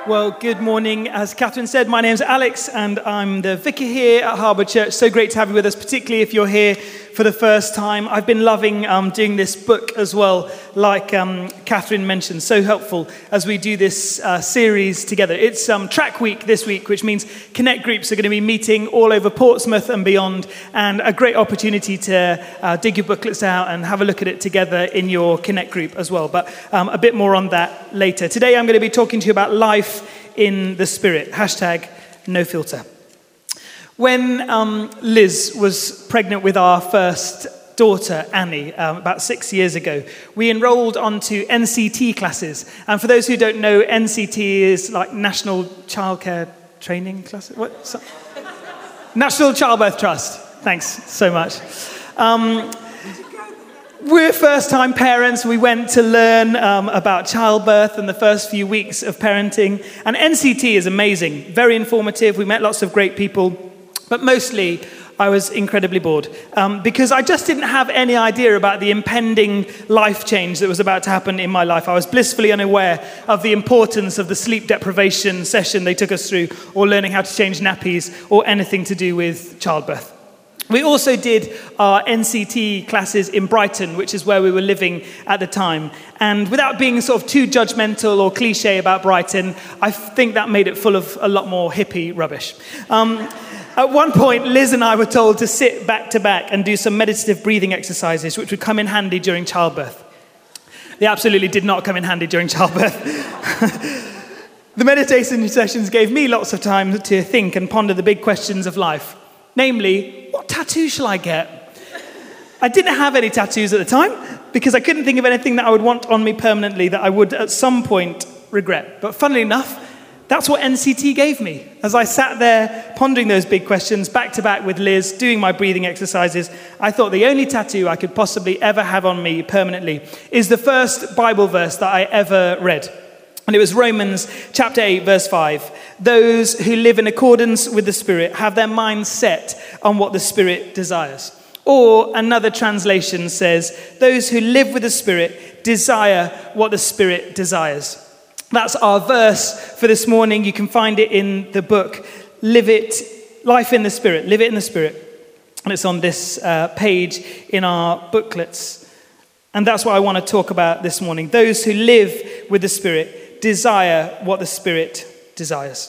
Well, good morning. As Catherine said, my name's Alex and I'm the vicar here at Harbour Church. So great to have you with us, particularly if you're here for the first time. I've been loving doing this book as well, like Catherine mentioned. So helpful as we do this series together. It's track week this week, which means Connect groups are going to be meeting all over Portsmouth and beyond, and a great opportunity to dig your booklets out and have a look at it together in your Connect group as well. But a bit more on that later. Today I'm going to be talking to you about life in the Spirit, #NoFilter. When Liz was pregnant with our first daughter, Annie, about 6 years ago, we enrolled onto NCT classes. And for those who don't know, NCT is like National Childcare Training Classes? National Childbirth Trust. Thanks so much. We're first-time parents. We went to learn about childbirth and the first few weeks of parenting. And NCT is amazing, very informative. We met lots of great people. But mostly, I was incredibly bored because I just didn't have any idea about the impending life change that was about to happen in my life. I was blissfully unaware of the importance of the sleep deprivation session they took us through, or learning how to change nappies, or anything to do with childbirth. We also did our NCT classes in Brighton, which is where we were living at the time. And without being sort of too judgmental or cliche about Brighton, I think that made it full of a lot more hippie rubbish. At one point, Liz and I were told to sit back to back and do some meditative breathing exercises, which would come in handy during childbirth. They absolutely did not come in handy during childbirth. The meditation sessions gave me lots of time to think and ponder the big questions of life. Namely, what tattoo shall I get? I didn't have any tattoos at the time because I couldn't think of anything that I would want on me permanently that I would at some point regret. But funnily enough, that's what NCT gave me. As I sat there pondering those big questions back to back with Liz, doing my breathing exercises, I thought the only tattoo I could possibly ever have on me permanently is the first Bible verse that I ever read. And it was Romans chapter 8, verse 5. Those who live in accordance with the Spirit have their minds set on what the Spirit desires. Or another translation says, those who live with the Spirit desire what the Spirit desires. That's our verse for this morning. You can find it in the book, Life in the Spirit, Live It in the Spirit. And it's on this page in our booklets. And that's what I want to talk about this morning. Those who live with the Spirit desire what the Spirit desires.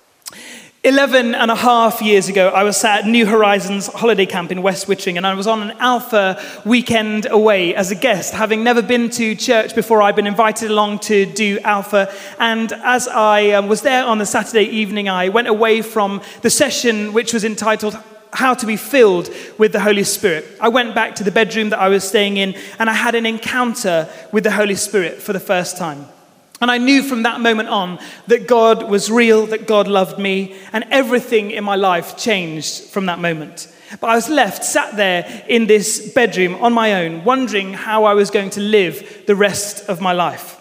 11 and a half years ago, I was sat at New Horizons holiday camp in West Wittering, and I was on an Alpha weekend away as a guest, having never been to church before. I'd been invited along to do Alpha, and as I was there on the Saturday evening, I went away from the session which was entitled How to be Filled with the Holy Spirit. I went back to the bedroom that I was staying in, and I had an encounter with the Holy Spirit for the first time. And I knew from that moment on that God was real, that God loved me, and everything in my life changed from that moment. But I was sat there in this bedroom on my own, wondering how I was going to live the rest of my life.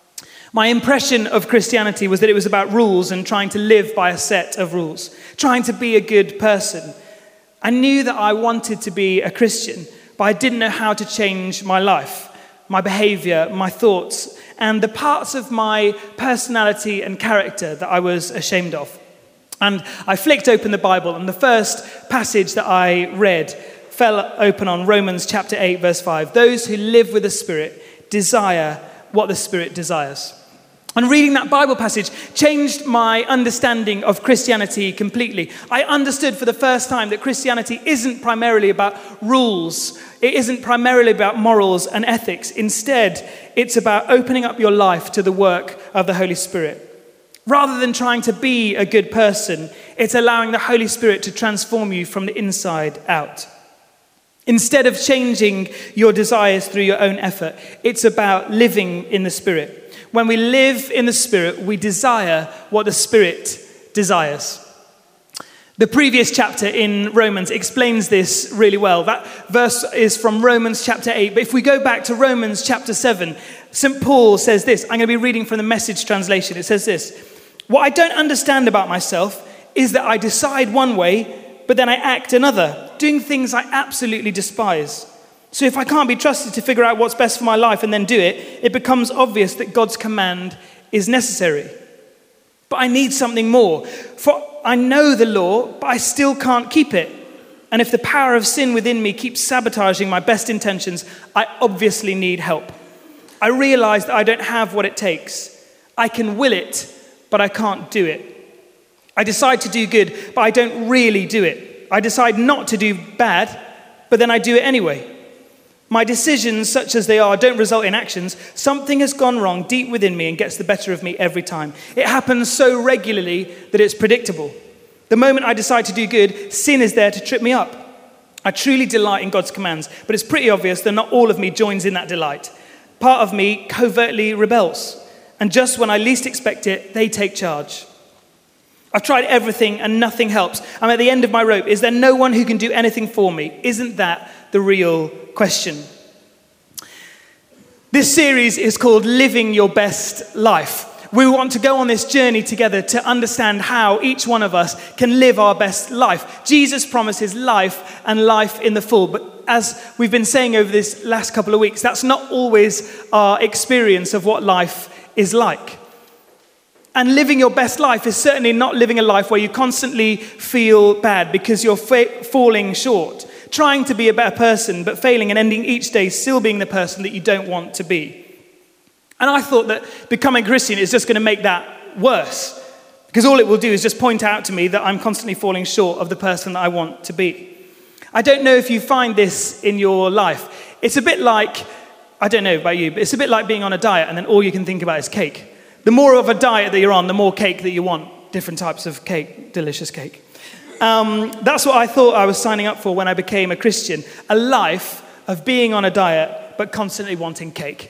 My impression of Christianity was that it was about rules and trying to live by a set of rules, trying to be a good person. I knew that I wanted to be a Christian, but I didn't know how to change my life, my behavior, my thoughts, and the parts of my personality and character that I was ashamed of. And I flicked open the Bible, and the first passage that I read fell open on Romans chapter 8, verse 5. Those who live with the Spirit desire what the Spirit desires. And reading that Bible passage changed my understanding of Christianity completely. I understood for the first time that Christianity isn't primarily about rules. It isn't primarily about morals and ethics. Instead, it's about opening up your life to the work of the Holy Spirit. Rather than trying to be a good person, it's allowing the Holy Spirit to transform you from the inside out. Instead of changing your desires through your own effort, it's about living in the Spirit. When we live in the Spirit, we desire what the Spirit desires. The previous chapter in Romans explains this really well. That verse is from Romans chapter 8. But if we go back to Romans chapter 7, St. Paul says this. I'm going to be reading from the Message translation. It says this. What I don't understand about myself is that I decide one way, but then I act another, doing things I absolutely despise. So if I can't be trusted to figure out what's best for my life and then do it, it becomes obvious that God's command is necessary. But I need something more. For I know the law, but I still can't keep it. And if the power of sin within me keeps sabotaging my best intentions, I obviously need help. I realize that I don't have what it takes. I can will it, but I can't do it. I decide to do good, but I don't really do it. I decide not to do bad, but then I do it anyway. My decisions, such as they are, don't result in actions. Something has gone wrong deep within me and gets the better of me every time. It happens so regularly that it's predictable. The moment I decide to do good, sin is there to trip me up. I truly delight in God's commands, but it's pretty obvious that not all of me joins in that delight. Part of me covertly rebels, and just when I least expect it, they take charge. I've tried everything and nothing helps. I'm at the end of my rope. Is there no one who can do anything for me? Isn't that the real question? This series is called Living Your Best Life. We want to go on this journey together to understand how each one of us can live our best life. Jesus promises life and life in the full. But as we've been saying over this last couple of weeks, that's not always our experience of what life is like. And living your best life is certainly not living a life where you constantly feel bad because you're falling short, trying to be a better person, but failing and ending each day still being the person that you don't want to be. And I thought that becoming a Christian is just going to make that worse, because all it will do is just point out to me that I'm constantly falling short of the person that I want to be. I don't know if you find this in your life. It's a bit like, I don't know about you, but it's a bit like being on a diet and then all you can think about is cake. The more of a diet that you're on, the more cake that you want. Different types of cake, delicious cake. That's what I thought I was signing up for when I became a Christian. A life of being on a diet, but constantly wanting cake.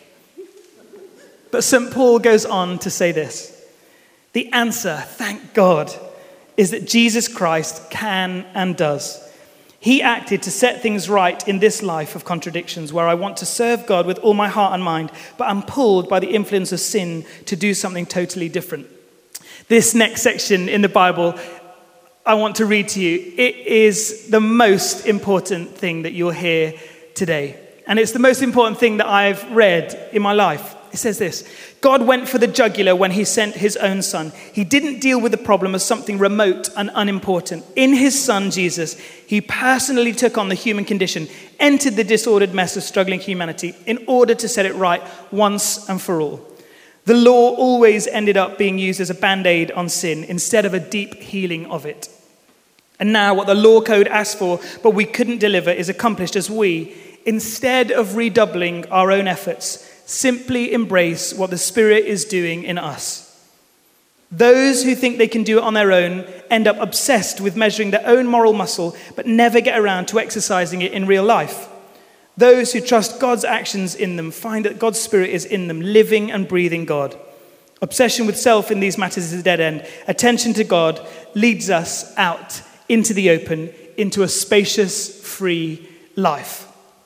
But St. Paul goes on to say this. The answer, thank God, is that Jesus Christ can and does. He acted to set things right in this life of contradictions where I want to serve God with all my heart and mind, but I'm pulled by the influence of sin to do something totally different. This next section in the Bible, I want to read to you. It is the most important thing that you'll hear today. And it's the most important thing that I've read in my life. It says this: God went for the jugular when he sent his own son. He didn't deal with the problem as something remote and unimportant. In his son, Jesus, he personally took on the human condition, entered the disordered mess of struggling humanity in order to set it right once and for all. The law always ended up being used as a band-aid on sin instead of a deep healing of it. And now what the law code asked for, but we couldn't deliver, is accomplished as we, instead of redoubling our own efforts, simply embrace what the Spirit is doing in us. Those who think they can do it on their own end up obsessed with measuring their own moral muscle, but never get around to exercising it in real life. Those who trust God's actions in them find that God's Spirit is in them, living and breathing God. Obsession with self in these matters is a dead end. Attention to God leads us out into the open, into a spacious, free life.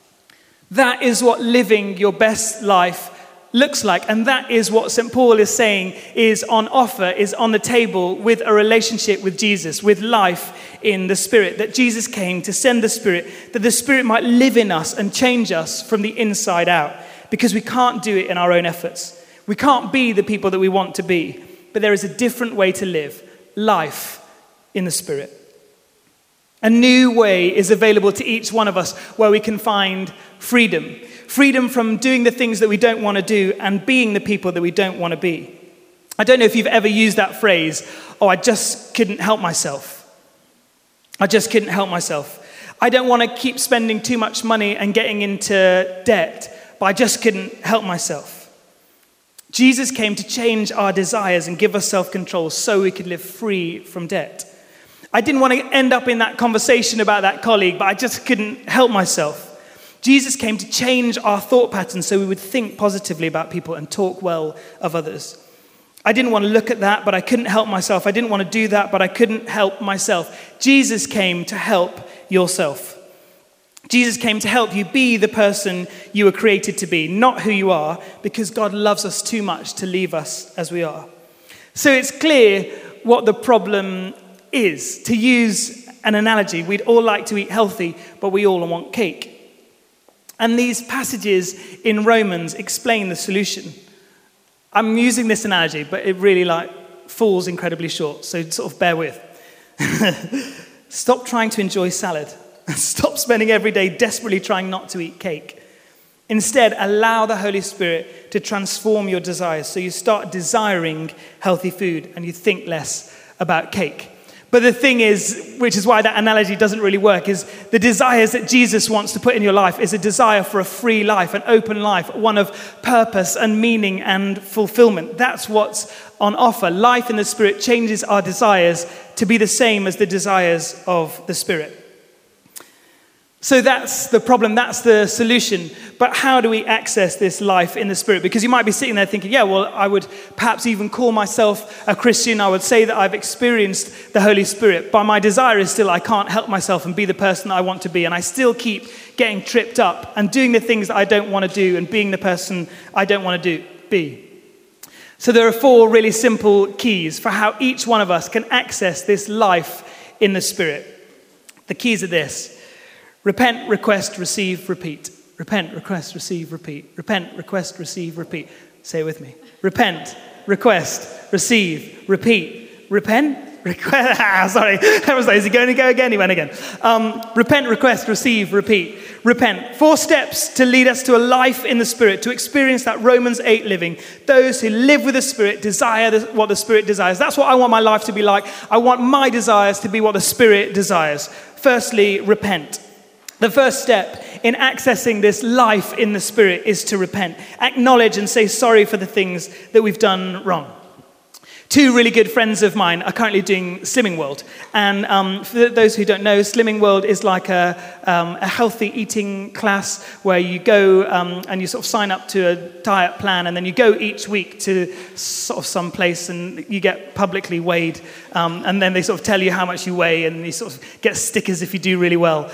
That is what living your best life looks like. And that is what St. Paul is saying is on offer, is on the table with a relationship with Jesus, with life in the Spirit. That Jesus came to send the Spirit, that the Spirit might live in us and change us from the inside out. Because we can't do it in our own efforts. We can't be the people that we want to be. But there is a different way to live, life in the Spirit. A new way is available to each one of us where we can find freedom. Freedom from doing the things that we don't want to do and being the people that we don't want to be. I don't know if you've ever used that phrase, oh, I just couldn't help myself. I just couldn't help myself. I don't want to keep spending too much money and getting into debt, but I just couldn't help myself. Jesus came to change our desires and give us self-control so we could live free from debt. I didn't want to end up in that conversation about that colleague, but I just couldn't help myself. Jesus came to change our thought patterns so we would think positively about people and talk well of others. I didn't want to look at that, but I couldn't help myself. I didn't want to do that, but I couldn't help myself. Jesus came to help yourself. Jesus came to help you be the person you were created to be, not who you are, because God loves us too much to leave us as we are. So it's clear what the problem is. To use an analogy, we'd all like to eat healthy, but we all want cake. And these passages in Romans explain the solution. I'm using this analogy, but it really falls incredibly short, so sort of bear with. Stop trying to enjoy salad. Stop spending every day desperately trying not to eat cake. Instead, allow the Holy Spirit to transform your desires so you start desiring healthy food and you think less about cake. But the thing is, which is why that analogy doesn't really work, is the desires that Jesus wants to put in your life is a desire for a free life, an open life, one of purpose and meaning and fulfillment. That's what's on offer. Life in the Spirit changes our desires to be the same as the desires of the Spirit. So that's the problem, that's the solution. But how do we access this life in the Spirit? Because you might be sitting there thinking, yeah, well, I would perhaps even call myself a Christian. I would say that I've experienced the Holy Spirit. But my desire is still I can't help myself and be the person that I want to be. And I still keep getting tripped up and doing the things that I don't want to do and being the person I don't want to be. So there are 4 really simple keys for how each one of us can access this life in the Spirit. The keys are this. Repent, request, receive, repeat. Repent, request, receive, repeat. Repent, request, receive, repeat. Say it with me. Repent, request, receive, repeat. Repent, request. Sorry, that was like, is he going to go again? He went again. Repent, request, receive, repeat. Repent. 4 steps to lead us to a life in the Spirit, to experience that Romans 8 living. Those who live with the Spirit desire what the Spirit desires. That's what I want my life to be like. I want my desires to be what the Spirit desires. Firstly, repent. The first step in accessing this life in the Spirit is to repent. Acknowledge and say sorry for the things that we've done wrong. 2 really good friends of mine are currently doing Slimming World. And for those who don't know, Slimming World is like a healthy eating class where you go and you sort of sign up to a diet plan, and then you go each week to sort of some place and you get publicly weighed. And then they sort of tell you how much you weigh, and you sort of get stickers if you do really well.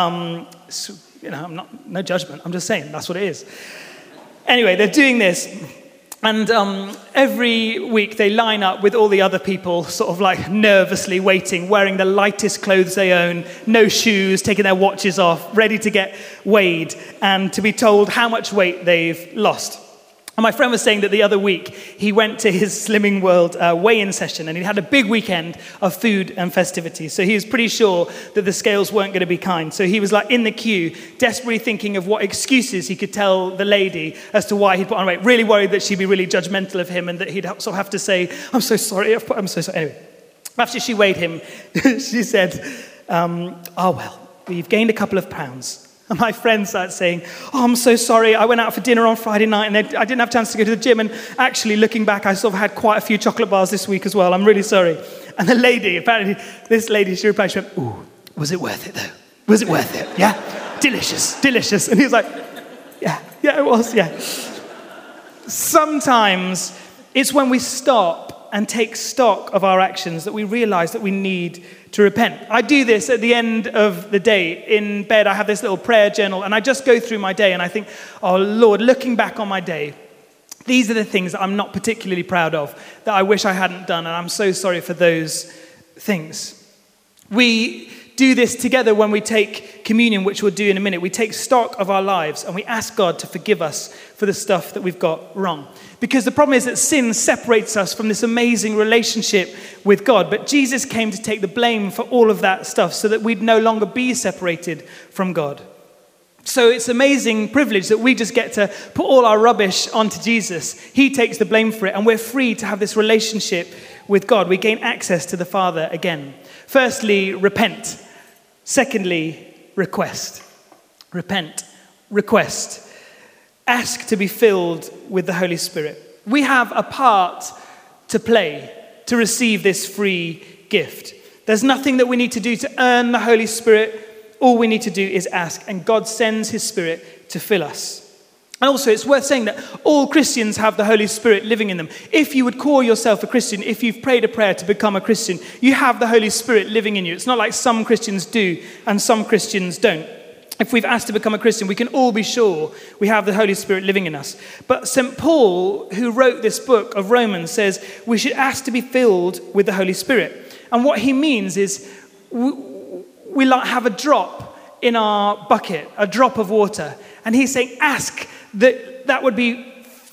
So, no judgment. I'm just saying that's what it is. Anyway, they're doing this. And every week they line up with all the other people, sort of like nervously waiting, wearing the lightest clothes they own, no shoes, taking their watches off, ready to get weighed and to be told how much weight they've lost. And my friend was saying that the other week he went to his Slimming World weigh-in session, and he had a big weekend of food and festivities. So he was pretty sure that the scales weren't going to be kind. So he was like in the queue, desperately thinking of what excuses he could tell the lady as to why he'd put on weight. Really worried that she'd be really judgmental of him and that he'd sort of have to say, I'm so sorry. I'm so sorry. Anyway, after she weighed him, she said, oh, well, you've gained a couple of pounds. And my friend started saying, oh, I'm so sorry. I went out for dinner on Friday night and I didn't have a chance to go to the gym. And actually, looking back, I sort of had quite a few chocolate bars this week as well. I'm really sorry. And the lady, apparently, this lady, she replied, she went, ooh, was it worth it, though? Was it worth it? Yeah? Delicious, delicious. And he was like, yeah, it was, yeah. Sometimes it's when we stop and take stock of our actions that we realize that we need to repent. I do this at the end of the day. In bed, I have this little prayer journal, and I just go through my day, and I think, oh, Lord, looking back on my day, these are the things that I'm not particularly proud of, that I wish I hadn't done, and I'm so sorry for those things. We do this together when we take communion, which we'll do in a minute. We take stock of our lives, and we ask God to forgive us for the stuff that we've got wrong. Because the problem is that sin separates us from this amazing relationship with God. But Jesus came to take the blame for all of that stuff so that we'd no longer be separated from God. So it's an amazing privilege that we just get to put all our rubbish onto Jesus. He takes the blame for it, and we're free to have this relationship with God. We gain access to the Father again. Firstly, repent. Secondly, request. Repent. Request. Ask to be filled with the Holy Spirit. We have a part to play to receive this free gift. There's nothing that we need to do to earn the Holy Spirit. All we need to do is ask, and God sends his Spirit to fill us. And also, it's worth saying that all Christians have the Holy Spirit living in them. If you would call yourself a Christian, if you've prayed a prayer to become a Christian, you have the Holy Spirit living in you. It's not like some Christians do and some Christians don't. If we've asked to become a Christian, we can all be sure we have the Holy Spirit living in us. But St. Paul, who wrote this book of Romans, says we should ask to be filled with the Holy Spirit. And what he means is we like have a drop in our bucket, a drop of water. And he's saying ask that would be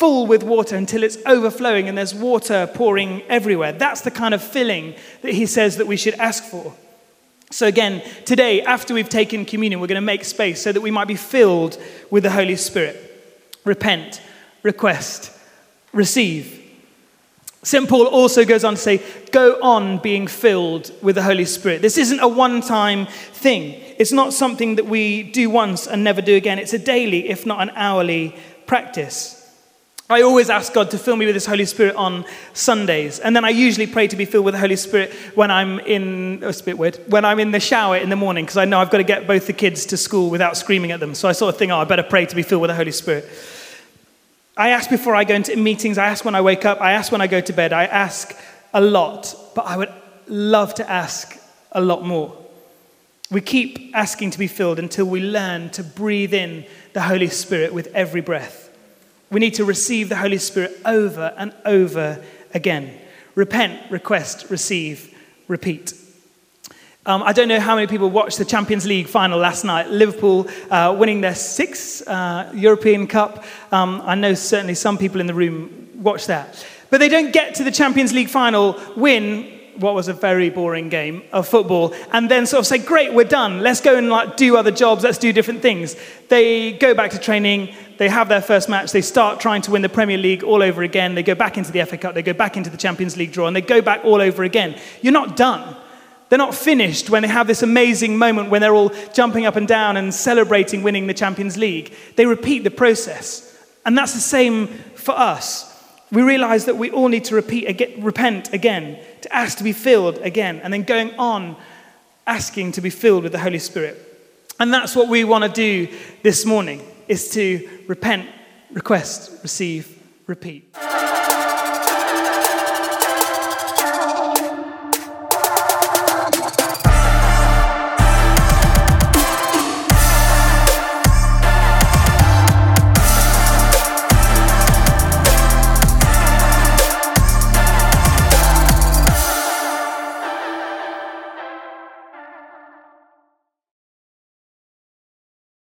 full with water until it's overflowing and there's water pouring everywhere. That's the kind of filling that he says that we should ask for. So again, today, after we've taken communion, we're going to make space so that we might be filled with the Holy Spirit. Repent, request, receive. St. Paul also goes on to say, go on being filled with the Holy Spirit. This isn't a one-time thing. It's not something that we do once and never do again. It's a daily, if not an hourly practice. I always ask God to fill me with His Holy Spirit on Sundays. And then I usually pray to be filled with the Holy Spirit when I'm in, it's a bit weird, when I'm in the shower in the morning, because I know I've got to get both the kids to school without screaming at them. So I sort of think, I better pray to be filled with the Holy Spirit. I ask before I go into meetings, I ask when I wake up, I ask when I go to bed, I ask a lot, but I would love to ask a lot more. We keep asking to be filled until we learn to breathe in the Holy Spirit with every breath. We need to receive the Holy Spirit over and over again. Repent, request, receive, repeat. I don't know how many people watched the Champions League final last night. Liverpool winning their 6th European Cup. I know certainly some people in the room watched that. But they don't get to the Champions League final, win what was a very boring game of football, and then sort of say, great, we're done. Let's go and do other jobs. Let's do different things. They go back to training. They have their first match. They start trying to win the Premier League all over again. They go back into the FA Cup. They go back into the Champions League draw, and they go back all over again. You're not done. They're not finished when they have this amazing moment when they're all jumping up and down and celebrating winning the Champions League. They repeat the process. And that's the same for us. We realize that we all need to repent again, to ask to be filled again, and then going on asking to be filled with the Holy Spirit. And that's what we want to do this morning, is to repent, request, receive, repeat.